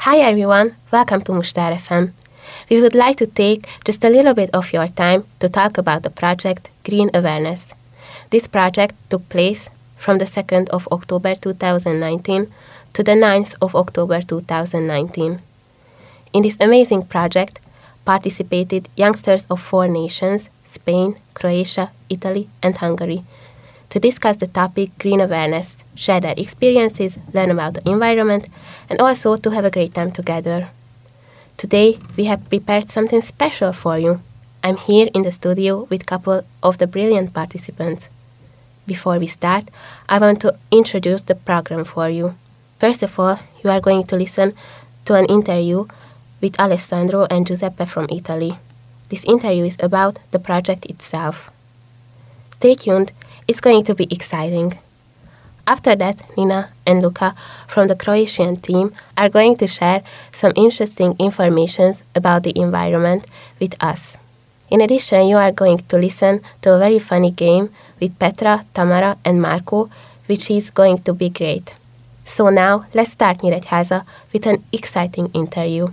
Hi everyone, welcome to Mustar FM. We would like to take just a little bit of your time to talk about the project Green Awareness. This project took place from the 2nd of October 2019 to the 9th of October 2019. In this amazing project participated youngsters of 4 nations, Spain, Croatia, Italy and Hungary, to discuss the topic Green Awareness, share their experiences, learn about the environment, and also to have a great time together. Today, we have prepared something special for you. I'm here in the studio with a couple of the brilliant participants. Before we start, I want to introduce the program for you. First of all, you are going to listen to an interview with Alessandro and Giuseppe from Italy. This interview is about the project itself. Stay tuned, it's going to be exciting. After that, Nina and Luka from the Croatian team are going to share some interesting information about the environment with us. In addition, you are going to listen to a very funny game with Petra, Tamara and Marco, which is going to be great. So now, let's start Nyíregyháza with an exciting interview.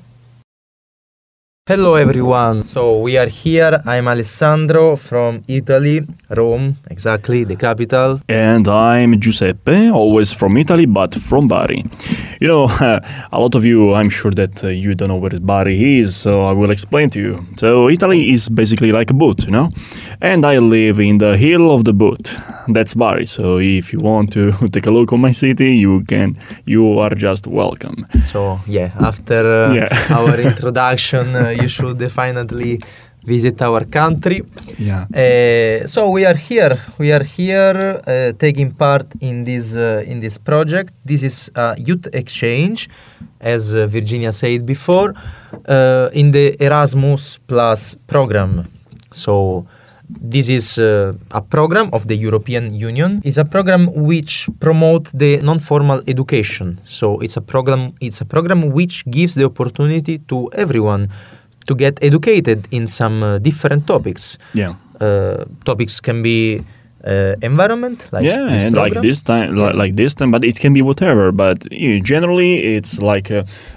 Hello everyone, so we are here. I'm Alessandro from Italy, Rome, exactly, the capital. And I'm Giuseppe, always from Italy, but from Bari. You know, a lot of you, I'm sure that you don't know where Bari is, so I will explain to you. So Italy is basically like a boot, you know? And I live in the hill of the boot. That's Bari, so if you want to take a look on my city, you are just welcome. So yeah, after our introduction, you should definitely visit our country. Yeah. So we are here taking part in this project. This is a youth exchange, as Virginia said before, in the Erasmus Plus program. So this is a program of the European Union. It's a program which promotes the non-formal education. So it's a program which gives the opportunity to everyone to get educated in some different topics. Yeah. Topics can be environment, like this and program. like this time, but it can be whatever. But generally, it's like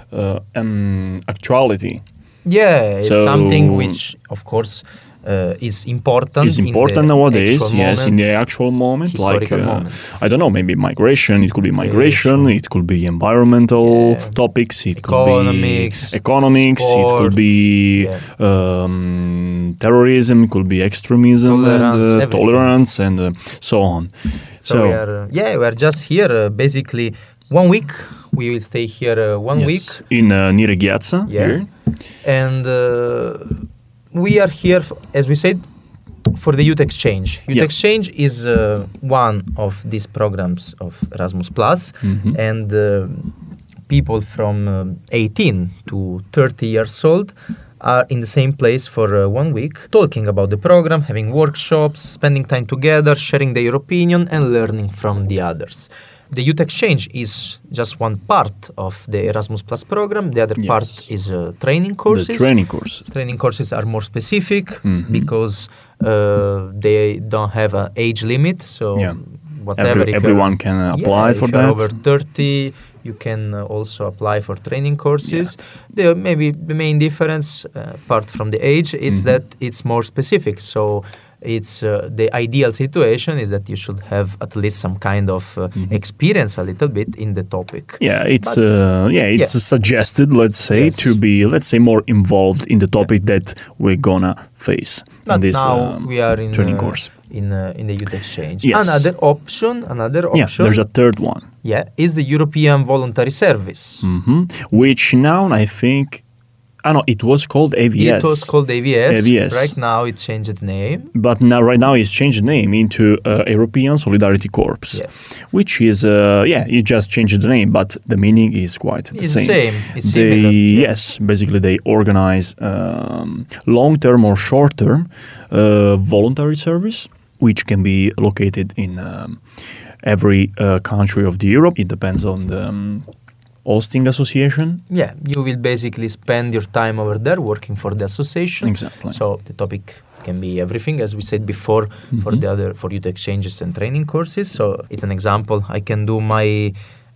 actuality. Yeah, it's something which, of course, is important. It's important nowadays, yes, in the actual moment. Historical moment. I don't know, maybe migration. It could be migration. It could be environmental topics. It could be economics. Sport, it could be terrorism. It could be extremism, tolerance, and so on. So we are just here basically 1 week. We will stay here 1 week in Nyíregyháza here, and. We are here, as we said, for the youth exchange. Youth exchange is one of these programs of Erasmus+, and people from 18 to 30 years old are in the same place for 1 week, talking about the program, having workshops, spending time together, sharing their opinion, and learning from the others. The youth exchange is just one part of the Erasmus Plus program. The other part is training courses. The training courses. Training courses are more specific because they don't have an age limit. So whatever. Everyone can apply for that. If you're over 30, you can also apply for training courses. Maybe the main difference, apart from the age, is that it's more specific. So it's the ideal situation is that you should have at least some kind of experience a little bit in the topic. Yeah, it's suggested, let's say, to be, more involved in the topic that we're gonna face in this now we are in training course. In the youth exchange. Yes. Another option. Yeah, there's a third one. Yeah, is the European Voluntary Service. Which now I think... it was called AVS. It was called AVS. Right now it changed name. But right now it's changed name into European Solidarity Corps. Yes. Which is, you just changed the name, but the meaning is quite the same. It's similar. Yes, basically they organize long-term or short-term voluntary service, which can be located in every country of the Europe. It depends on the hosting association. Yeah, you will basically spend your time over there working for the association. Exactly. So the topic can be everything, as we said before, for youth exchanges and training courses. So it's an example. I can do my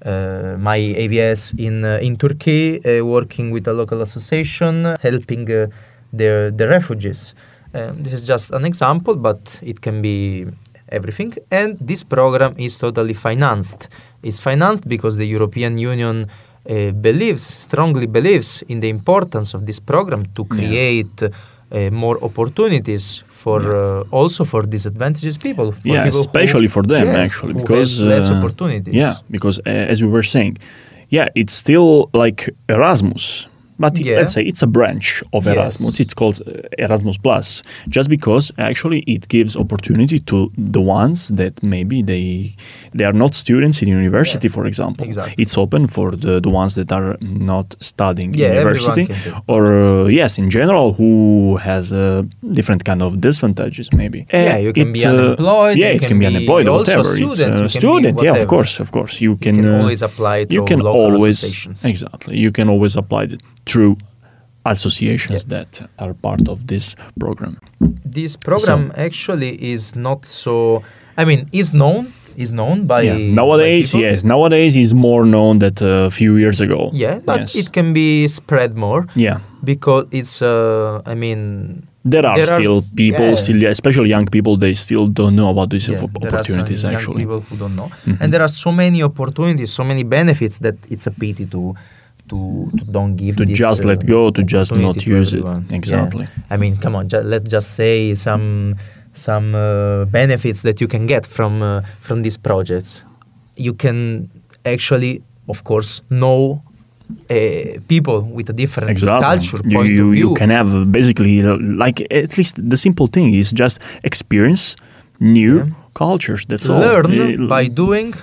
my AVS in Turkey, working with a local association, helping the refugees. This is just an example, but it can be everything. And this program is totally financed. It's financed because the European Union strongly believes in the importance of this program to create more opportunities for also for disadvantaged people. For people especially for them actually, because less opportunities. Yeah, because as we were saying, it's still like Erasmus. But let's say it's a branch of Erasmus. It's called Erasmus Plus, just because actually it gives opportunity to the ones that maybe they are not students in university, for example. Exactly. It's open for the ones that are not studying in university, or in general, who has different kind of disadvantages maybe. You can be unemployed. It can be unemployed or whatever. Student, it's a student. Of course. You can always apply to local associations. Exactly. You can always apply it through associations that are part of this program. This program actually is not so. I mean, is known by nowadays. By people. Nowadays is more known than a few years ago. Yeah, but it can be spread more. Yeah, because it's. There are still people, especially young people, they still don't know about these opportunities. There are some actually, young people who don't know, and there are so many opportunities, so many benefits that it's a pity to don't give to this, just let go, to just not use it. Exactly. I mean, come on, let's just say some benefits that you can get from these projects. You can actually, of course, know people with a different culture, point of view. You can have basically, like, at least the simple thing is just experience new cultures. That's all. Learning by doing.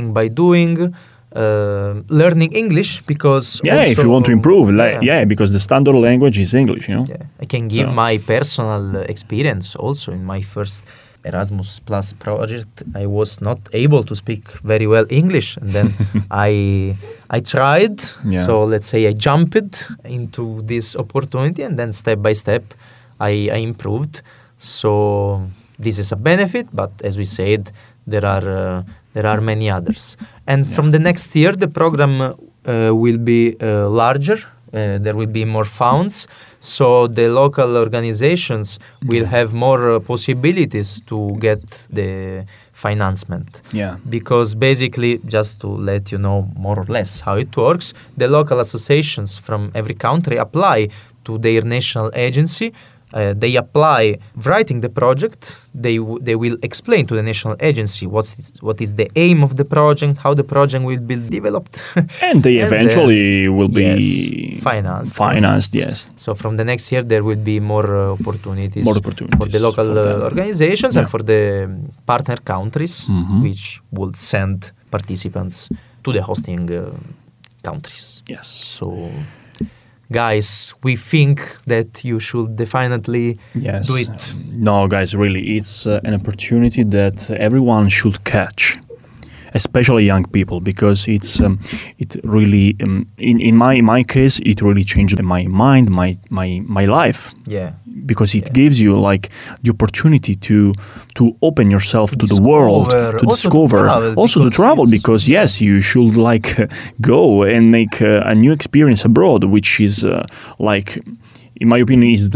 Learning English because if you want to improve, because the standard language is English, I can give my personal experience also. In my first Erasmus Plus project, I was not able to speak very well English, and then I tried. So let's say I jumped into this opportunity, and then step by step I improved. So this is a benefit, but as we said, there are many others. And from the next year, the program will be larger. There will be more funds. So the local organizations will have more possibilities to get the financement. Yeah. Because basically, just to let you know more or less how it works, the local associations from every country apply to their national agency. They apply writing the project. They will explain to the national agency what is the aim of the project, how the project will be developed, and they eventually will be financed. Yes. So from the next year there will be more opportunities for the local organizations and for the partner countries, which will send participants to the hosting countries. Yes. So. Guys, we think that you should definitely do it. No, guys, really, it's an opportunity that everyone should catch, especially young people, because it really, in my case, it really changed my mind, my life. Yeah. Because it gives you like the opportunity to open yourself to the world, to discover, also to travel. Because you should like go and make a new experience abroad, which is like, in my opinion, is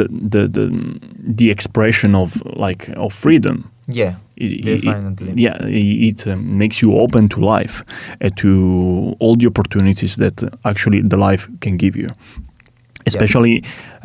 the expression of freedom. Yeah, definitely. It makes you open to life, to all the opportunities that actually the life can give you. Especially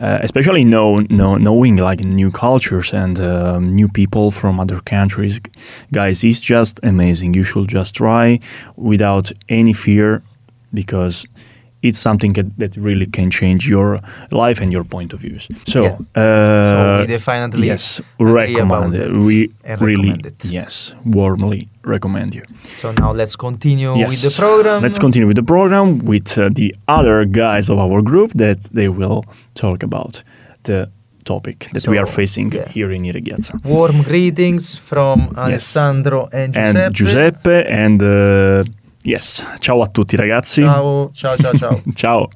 knowing like new cultures and new people from other countries, guys, it's just amazing. You should just try without any fear, because it's something that really can change your life and your point of views. So we definitely recommend it. We really recommend it. Warmly recommend you. So now let's continue with the program. Let's continue with the program with the other guys of our group that they will talk about the topic that we are facing here in Ireghiața. Warm greetings from Alessandro and Giuseppe. And ciao a tutti ragazzi. Ciao. Ciao.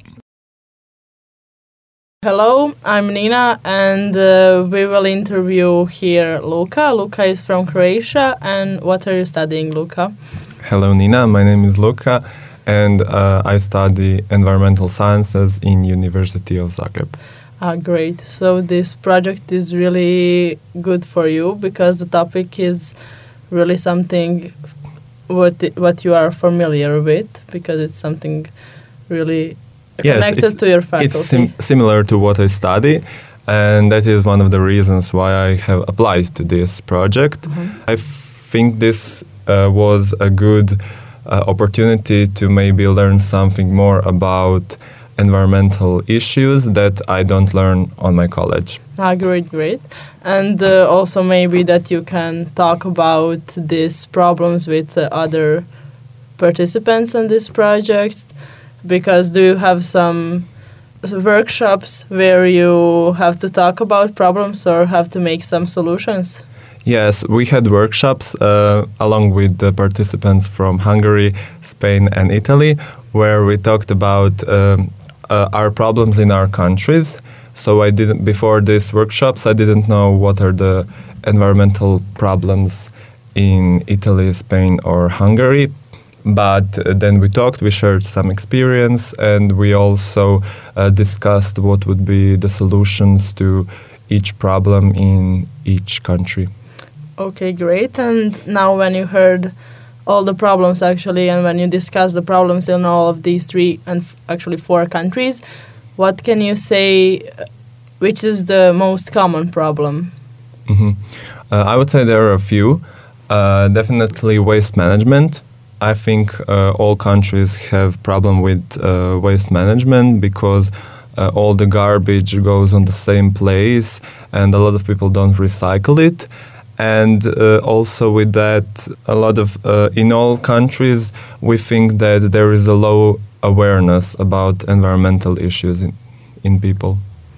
Hello, I'm Nina, and we will interview here Luka. Luka is from Croatia, and what are you studying, Luka? Hello, Nina. My name is Luka, and I study environmental sciences in University of Zagreb. Great. So this project is really good for you because the topic is really something what you are familiar with, because it's something really connected to your faculty. It's similar to what I study, and that is one of the reasons why I have applied to this project. I think this was a good opportunity to maybe learn something more about environmental issues that I don't learn on my college. Great. And also maybe that you can talk about these problems with other participants in this project, because do you have some workshops where you have to talk about problems or have to make some solutions? Yes, we had workshops along with the participants from Hungary, Spain and Italy, where we talked about our problems in our countries. So before these workshops, I didn't know what are the environmental problems in Italy, Spain or Hungary. But then we talked, we shared some experience, and we also discussed what would be the solutions to each problem in each country. Okay, great. And now when you heard all the problems actually, and when you discussed the problems in all of these 3 and actually 4 countries, what can you say, which is the most common problem? I would say there are a few. Definitely waste management. I think all countries have problem with waste management because all the garbage goes on the same place and a lot of people don't recycle it. And also with that, a lot of, in all countries, we think that there is a low awareness about environmental issues in people.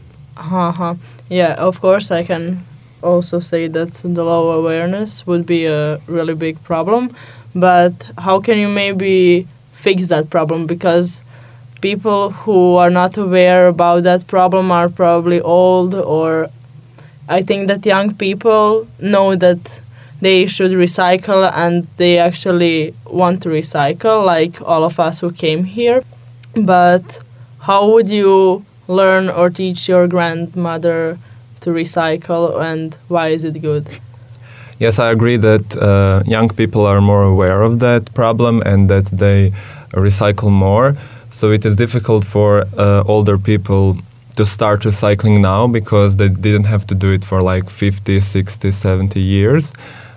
Yeah, of course, I can also say that the low awareness would be a really big problem. But how can you maybe fix that problem? Because people who are not aware about that problem are probably old, or I think that young people know that they should recycle and they actually want to recycle, like all of us who came here. But how would you learn or teach your grandmother to recycle, and why is it good? Yes, I agree that young people are more aware of that problem and that they recycle more. So it is difficult for older people to start recycling now because they didn't have to do it for like 50, 60, 70 years.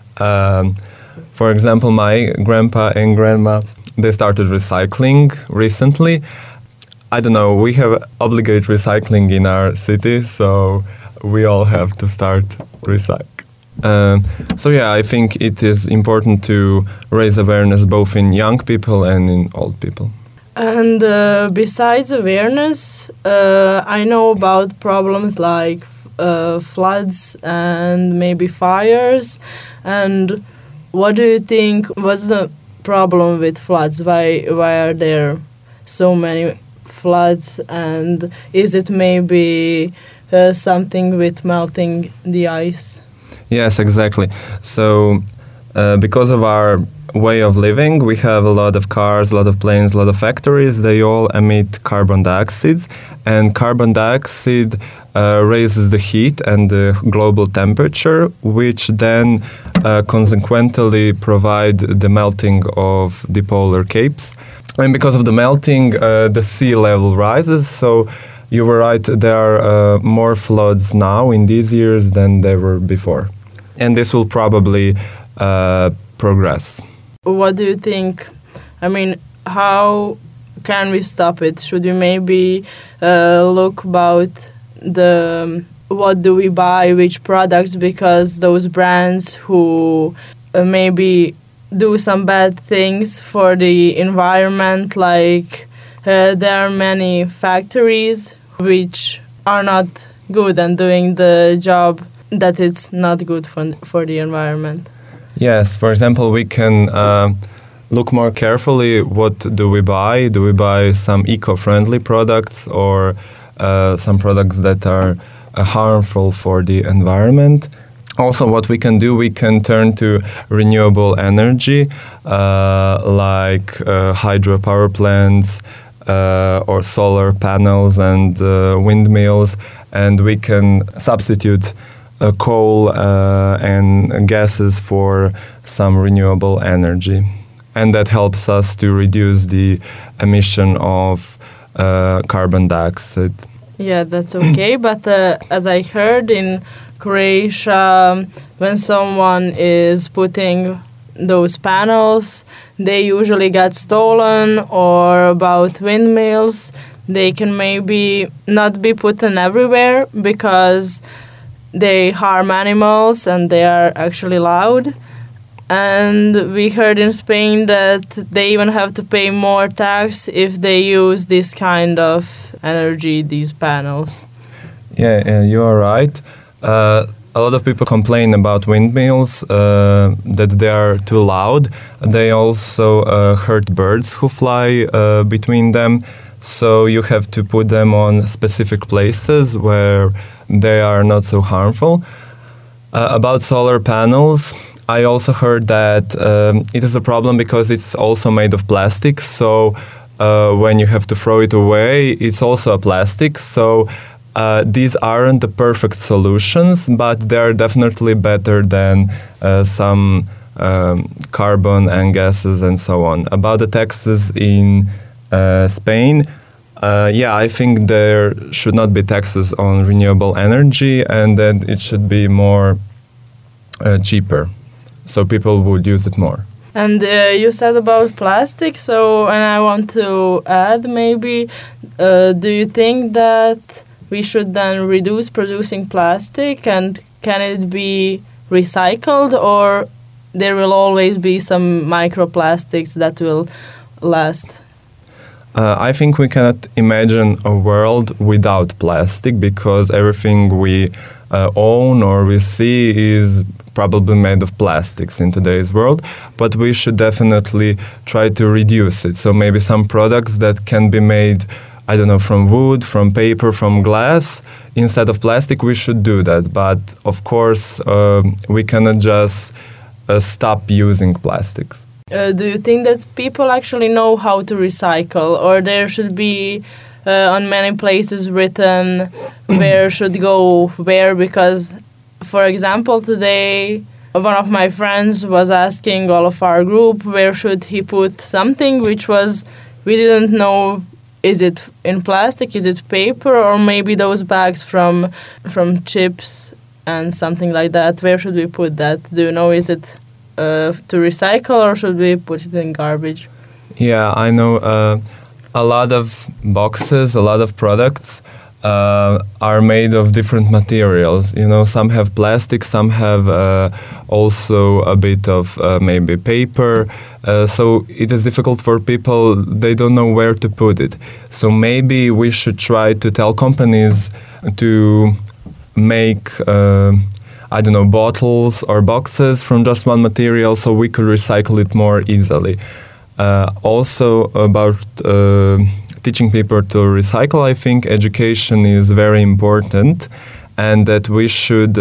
For example, my grandpa and grandma, they started recycling recently. I don't know, we have obligate recycling in our city, so we all have to start recycling. So yeah, I think it is important to raise awareness both in young people and in old people. And besides awareness, I know about problems like floods and maybe fires. And what do you think was the problem with floods? Why are there so many floods? And is it maybe something with melting the ice? Yes, exactly. So because of our way of living, we have a lot of cars, a lot of planes, a lot of factories. They all emit carbon dioxide, and carbon dioxide raises the heat and the global temperature, which then consequently provide the melting of the polar capes. And because of the melting, the sea level rises. So you were right, there are more floods now in these years than there were before. And this will probably progress. What do you think? I mean, how can we stop it? Should we maybe look about what do we buy, which products, because those brands who maybe do some bad things for the environment, like there are many factories which are not good and doing the job that it's not good for the environment. Yes, for example, we can look more carefully what do we buy. Do we buy some eco-friendly products or some products that are harmful for the environment? Also, what we can do, we can turn to renewable energy, like hydropower plants or solar panels and windmills, and we can substitute coal and gases for some renewable energy. And that helps us to reduce the emission of carbon dioxide. Yeah, that's okay. But as I heard in Croatia, when someone is putting those panels, they usually get stolen, or about windmills, they can maybe not be put in everywhere because they harm animals and they are actually loud. And we heard in Spain that they even have to pay more tax if they use this kind of energy, these panels. Yeah, you are right. A lot of people complain about windmills, that they are too loud. They also hurt birds who fly between them. So you have to put them on specific places where they are not so harmful. About solar panels, I also heard that it is a problem because it's also made of plastic. So when you have to throw it away, it's also a plastic. So these aren't the perfect solutions, but they're definitely better than some carbon and gases and so on. About the taxes in Spain, I think there should not be taxes on renewable energy, and that it should be more cheaper, so people would use it more. And you said about plastic, and I want to add maybe, do you think that we should then reduce producing plastic, and can it be recycled, or there will always be some microplastics that will last? I think we cannot imagine a world without plastic, because everything we own or we see is probably made of plastics in today's world, but we should definitely try to reduce it. So maybe some products that can be made, I don't know, from wood, from paper, from glass, instead of plastic, we should do that. But of course, we cannot just stop using plastics. Do you think that people actually know how to recycle, or there should be on many places written where should go where? Because, for example, today one of my friends was asking all of our group where should he put something, which was, we didn't know, is it in plastic, is it paper, or maybe those bags from chips and something like that. Where should we put that? Do you know, is it to recycle, or should we put it in garbage? Yeah, I know a lot of boxes, a lot of products are made of different materials. You know, some have plastic, some have also a bit of maybe paper. So it is difficult for people, they don't know where to put it. So maybe we should try to tell companies to make I don't know, bottles or boxes from just one material, so we could recycle it more easily. Also about teaching people to recycle, I think education is very important, and that we should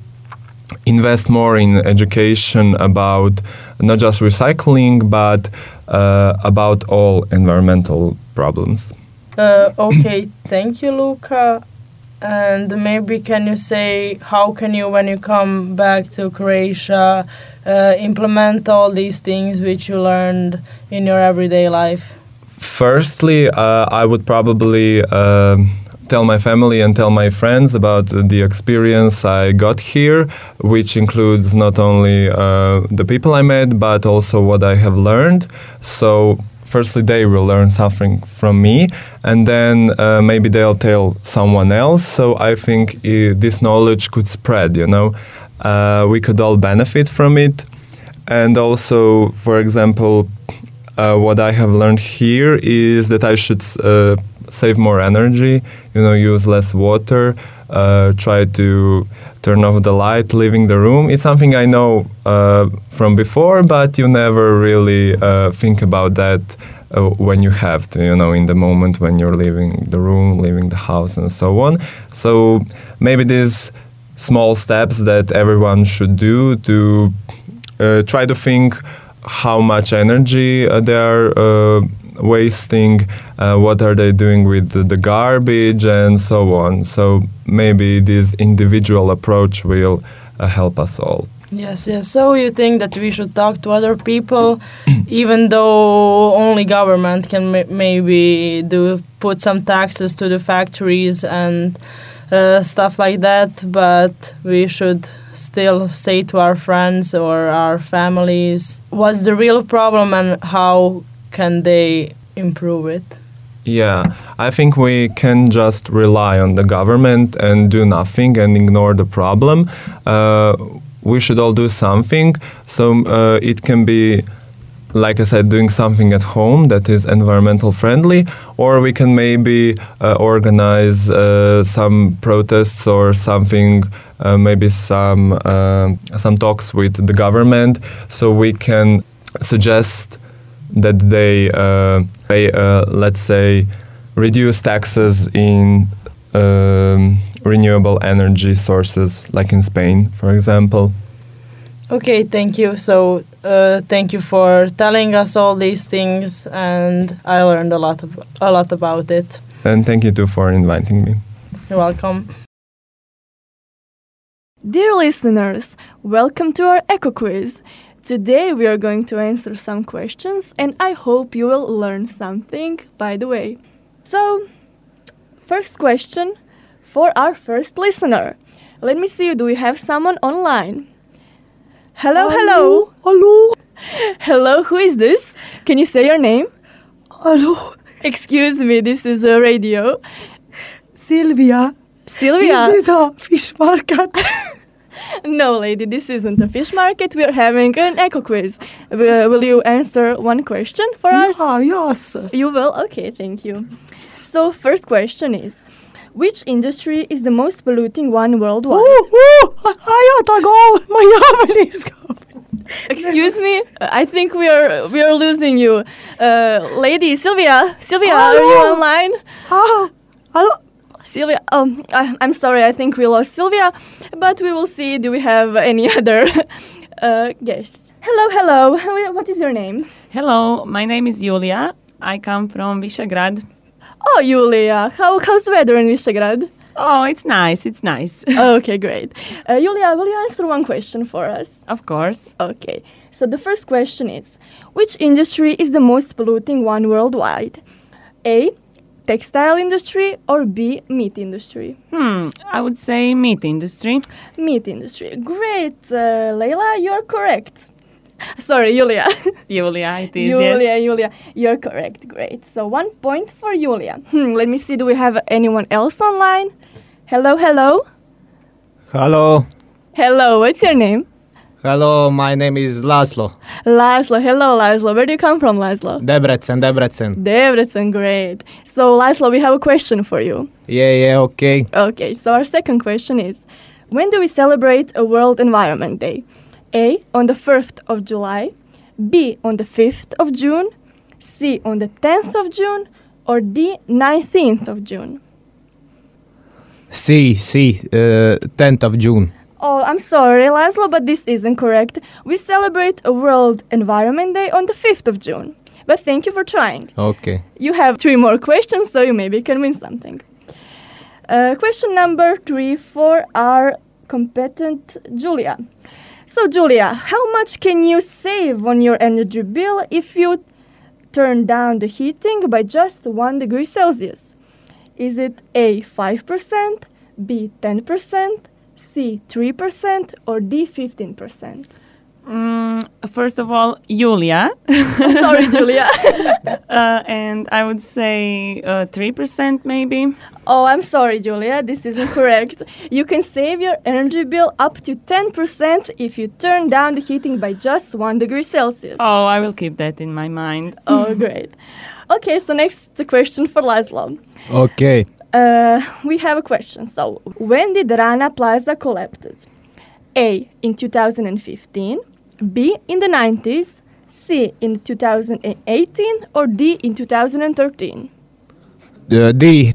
invest more in education about not just recycling, but about all environmental problems. Okay, thank you, Luca. And maybe can you say, how can you, when you come back to Croatia, implement all these things which you learned in your everyday life? Firstly, I would probably tell my family and tell my friends about the experience I got here, which includes not only the people I met, but also what I have learned. So firstly, they will learn something from me, and then maybe they'll tell someone else. So I think this knowledge could spread, you know. We could all benefit from it. And also, for example, what I have learned here is that I should save more energy, you know, use less water, try to turn off the light, leaving the room. It's something I know from before, but you never really think about that when you have to, you know, in the moment when you're leaving the room, leaving the house, and so on. So maybe these small steps that everyone should do to try to think how much energy they are wasting, what are they doing with the garbage, and so on. So maybe this individual approach will help us all. Yes. So you think that we should talk to other people, even though only government can maybe put some taxes to the factories and stuff like that, but we should still say to our friends or our families what's the real problem and how can they improve it. Yeah, I think we can just rely on the government and do nothing and ignore the problem. We should all do something. So it can be, like I said, doing something at home that is environmental friendly, or we can maybe organize some protests or something, maybe some talks with the government, so we can suggest that they let's say, reduce taxes in renewable energy sources, like in Spain, for example. Okay, thank you. So thank you for telling us all these things, and I learned a lot about it. And thank you too for inviting me. You're welcome. Dear listeners, welcome to our Eco Quiz. Today we are going to answer some questions, and I hope you will learn something by the way. So, first question for our first listener. Let me see, do we have someone online? Hello. Hello. Hello, who is this? Can you say your name? Hello. Excuse me, this is a radio. Sylvia. Sylvia? Is this the fish market? No, lady, this isn't a fish market. We are having an eco quiz. Will you answer one question for us? Yes. You will? Okay, thank you. So, first question is, which industry is the most polluting one worldwide? I ought to go. My family is going. Excuse me, I think we are losing you. Lady, Sylvia, Hello. are you online? Hello. Sylvia, I'm sorry, I think we lost Sylvia, but we will see, do we have any other guests? Hello, what is your name? Hello, my name is Julia. I come from Visegrad. Oh, Julia, how's the weather in Visegrad? Oh, it's nice. Okay, great. Julia, will you answer one question for us? Of course. Okay, so the first question is, which industry is the most polluting one worldwide? A, textile industry, or B, meat industry? I would say meat industry. Meat industry. Great. Leila, you're correct. Sorry, Julia. Julia, it is, yes. Julia, you're correct. Great. So 1 point for Julia. Let me see, do we have anyone else online? Hello. Hello, what's your name? Hello, my name is Laszlo. Hello Laszlo. Where do you come from, Laszlo? Debrecen. Great. So Laszlo, we have a question for you. Yeah, okay. Okay, so our second question is, when do we celebrate a World Environment Day? A, on the 1st of July, B, on the 5th of June, C, on the 10th of June, or D, 19th of June? C, 10th of June. Oh, I'm sorry, Laszlo, but this isn't correct. We celebrate a World Environment Day on the 5th of June. But thank you for trying. Okay. You have 3 more questions, so you maybe can win something. Question number 3 for our competent Julia. So, Julia, how much can you save on your energy bill if you turn down the heating by just 1 degree Celsius? Is it A, 5%, B, 10%, C, 3%, or D, 15%? First of all, Julia. Sorry, Julia. And I would say 3% maybe. Oh, I'm sorry, Julia. This isn't correct. You can save your energy bill up to 10% if you turn down the heating by just 1 degree Celsius. Oh, I will keep that in my mind. Oh, great. Okay, so next the question for Laszlo. Okay. We have a question. So, when did Rana Plaza collapse? A, in 2015, B, in the 90s, C, in 2018, or D, in 2013? D,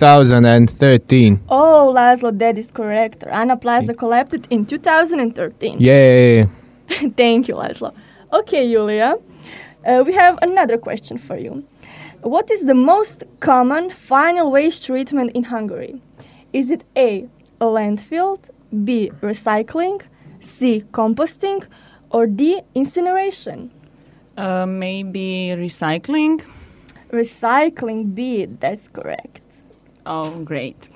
2013. Oh, Laszlo, that is correct. Rana Plaza collapsed in 2013. Yeah. Thank you, Laszlo. Okay, Julia, we have another question for you. What is the most common final waste treatment in Hungary? Is it A, a landfill, B, recycling, C, composting, or D, incineration? Maybe recycling. Recycling, B, that's correct. Oh, great.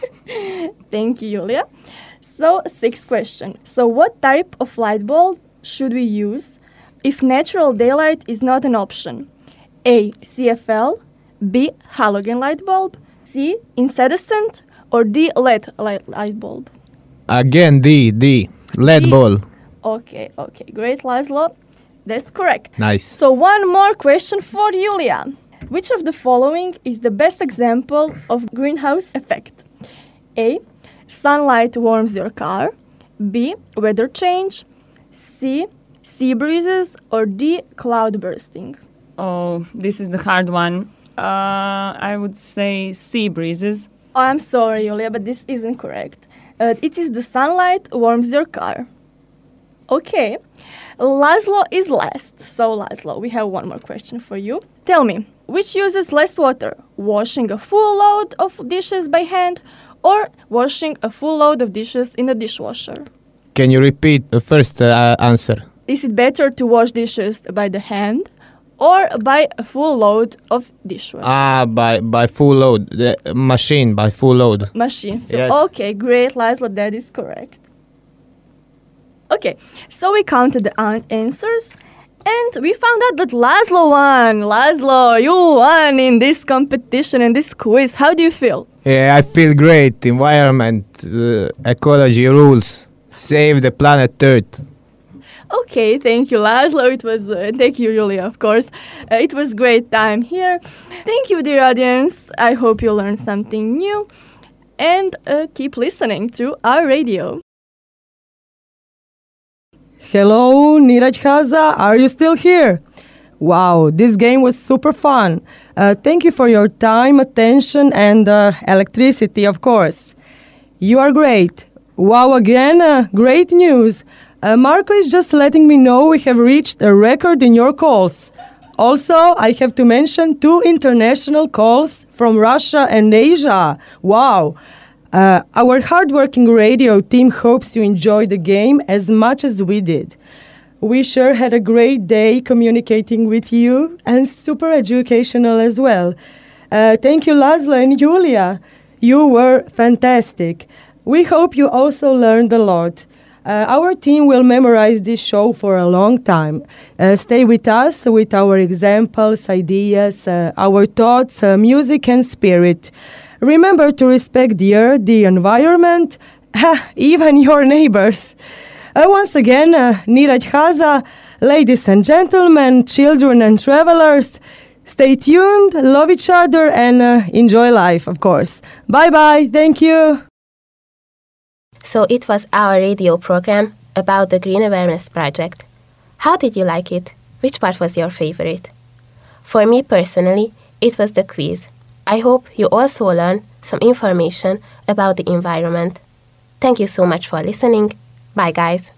Thank you, Julia. So, sixth question. So, what type of light bulb should we use if natural daylight is not an option? A, CFL, B, halogen light bulb, C, incandescent, or D, LED light bulb? Again, D, LED bulb. Okay, great, Laszlo. That's correct. Nice. So, one more question for Julia. Which of the following is the best example of greenhouse effect? A, sunlight warms your car, B, weather change, C, sea breezes, or D, cloud bursting? Oh, this is the hard one. I would say sea breezes. Oh, I'm sorry, Julia, but this isn't correct. It is the sunlight warms your car. Okay, Laszlo is last. So, Laszlo, we have one more question for you. Tell me, which uses less water? Washing a full load of dishes by hand or washing a full load of dishes in the dishwasher? Can you repeat the first answer? Is it better to wash dishes by the hand or by a full load of dishwasher? By full load. The machine by full load. Machine. Yes. Okay, great, Laszlo, that is correct. Okay, so we counted the answers and we found out that Laszlo won. Laszlo, you won in this competition, in this quiz. How do you feel? Yeah, I feel great. Environment, ecology rules. Save the planet Earth. Okay, thank you, Laszlo. It was thank you, Julia, of course. It was great time here. Thank you, dear audience. I hope you learned something new and keep listening to our radio. Hello, Niraj Haza, are you still here? Wow, this game was super fun. Thank you for your time, attention, and electricity, of course. You are great. Wow, again, great news. Marco is just letting me know we have reached a record in your calls. Also, I have to mention 2 international calls from Russia and Asia. Wow. Our hardworking radio team hopes you enjoyed the game as much as we did. We sure had a great day communicating with you and super educational as well. Thank you, Laszlo and Julia. You were fantastic. We hope you also learned a lot. Our team will memorize this show for a long time. Stay with us with our examples, ideas, our thoughts, music and spirit. Remember to respect the earth, the environment, even your neighbors. Once again, Niraj Haza, ladies and gentlemen, children and travelers, stay tuned, love each other, and enjoy life, of course. Bye-bye, thank you. So it was our radio program about the Green Awareness Project. How did you like it? Which part was your favorite? For me personally, it was the quiz. I hope you also learned some information about the environment. Thank you so much for listening. Bye, guys.